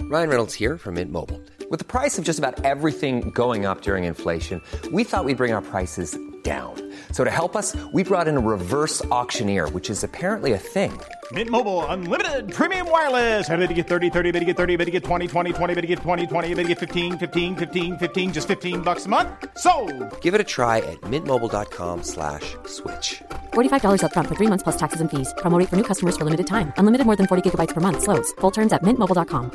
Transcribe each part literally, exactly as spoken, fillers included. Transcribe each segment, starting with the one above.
Ryan Reynolds here from Mint Mobile. With the price of just about everything going up during inflation, we thought we'd bring our prices down. So to help us, we brought in a reverse auctioneer, which is apparently a thing. Mint Mobile Unlimited Premium Wireless. How to get thirty, thirty, how to get thirty, how to get twenty, twenty, twenty, how to get twenty, twenty, how to get fifteen, fifteen, fifteen, fifteen, just fifteen bucks a month? Sold! Give it a try at mintmobile.com slash switch. forty-five dollars up front for three months plus taxes and fees. Promo rate for new customers for limited time. Unlimited more than forty gigabytes per month. Slows full terms at mint mobile dot com.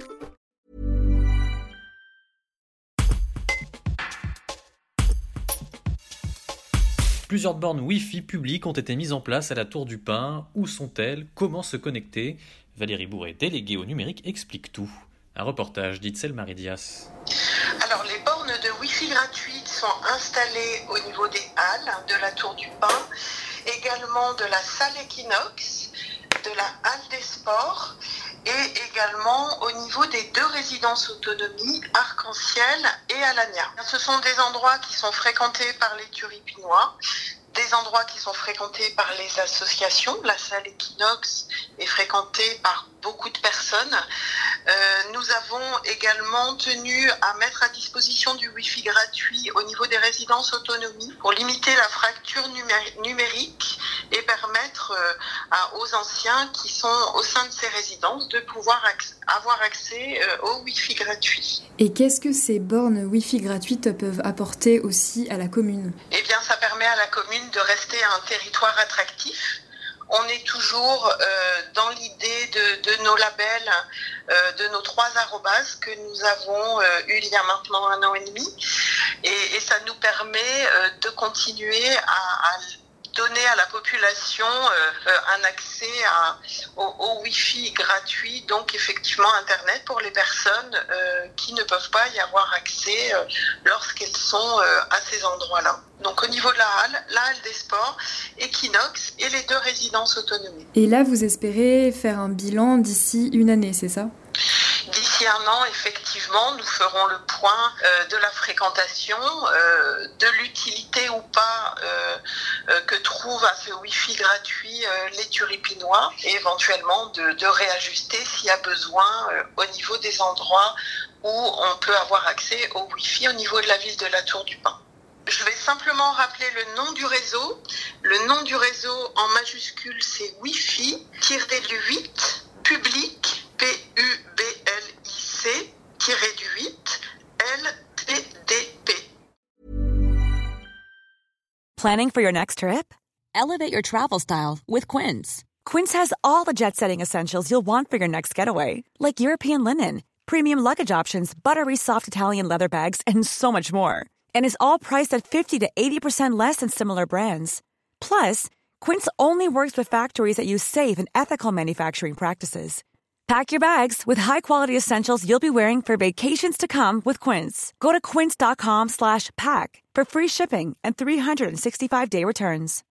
Plusieurs bornes Wi-Fi publiques ont été mises en place à la Tour du Pin. Où sont-elles ? Comment se connecter ? Valérie Bourret, déléguée au numérique, explique tout. Un reportage d'Itzel Maridias. Alors, les bornes de Wi-Fi gratuites sont installées au niveau des halles de la Tour du Pin, également de la salle Equinox, de la halle des sports et également au niveau des deux résidences autonomie, Arc-en-Ciel et Alania. Ce sont des endroits qui sont fréquentés par les Turipinois, des endroits qui sont fréquentés par les associations. La salle Equinox est fréquentée par beaucoup de personnes. Euh, nous avons également tenu à mettre à disposition du Wi-Fi gratuit au niveau des résidences autonomie pour limiter la fracture numé- numérique et permettre euh, à, aux anciens qui sont au sein de ces résidences de pouvoir ac- avoir accès euh, au Wi-Fi gratuit. Et qu'est-ce que ces bornes Wi-Fi gratuites peuvent apporter aussi à la commune ? Eh bien, ça permet à la commune de rester un territoire attractif. On est toujours euh, dans l'idée de, de nos labels, euh, de nos trois arrobases que nous avons euh, eu il y a maintenant un an et demi. Et, et ça nous permet euh, de continuer à, à donner à la population euh, un accès à, au, au Wi-Fi gratuit, donc effectivement Internet pour les personnes euh, qui ne peuvent pas y avoir accès euh, lorsqu'elles sont euh, à ces endroits-là. Donc au niveau de la halle, la halle des sports, Equinox et les deux résidences autonomie. Et là, vous espérez faire un bilan d'ici une année, c'est ça ? D'ici un an, effectivement, nous ferons le point euh, de la fréquentation, euh, de l'utilité ou pas euh, euh, que trouvent à ce Wi-Fi gratuit euh, les Turipinois et éventuellement de, de réajuster s'il y a besoin euh, au niveau des endroits où on peut avoir accès au Wi-Fi au niveau de la ville de la Tour du Pin. Je vais simplement rappeler le nom du réseau. Le nom du réseau en majuscule, c'est Wi-Fi huit public, P U B L I C huit L T D P. Planning for your next trip? Elevate your travel style with Quince. Quince has all the jet-setting essentials you'll want for your next getaway, like European linen, premium luggage options, buttery soft Italian leather bags, and so much more. And is all priced at fifty to eighty percent less than similar brands. Plus, Quince only works with factories that use safe and ethical manufacturing practices. Pack your bags with high-quality essentials you'll be wearing for vacations to come with Quince. Go to quince.com slash pack for free shipping and three sixty-five day returns.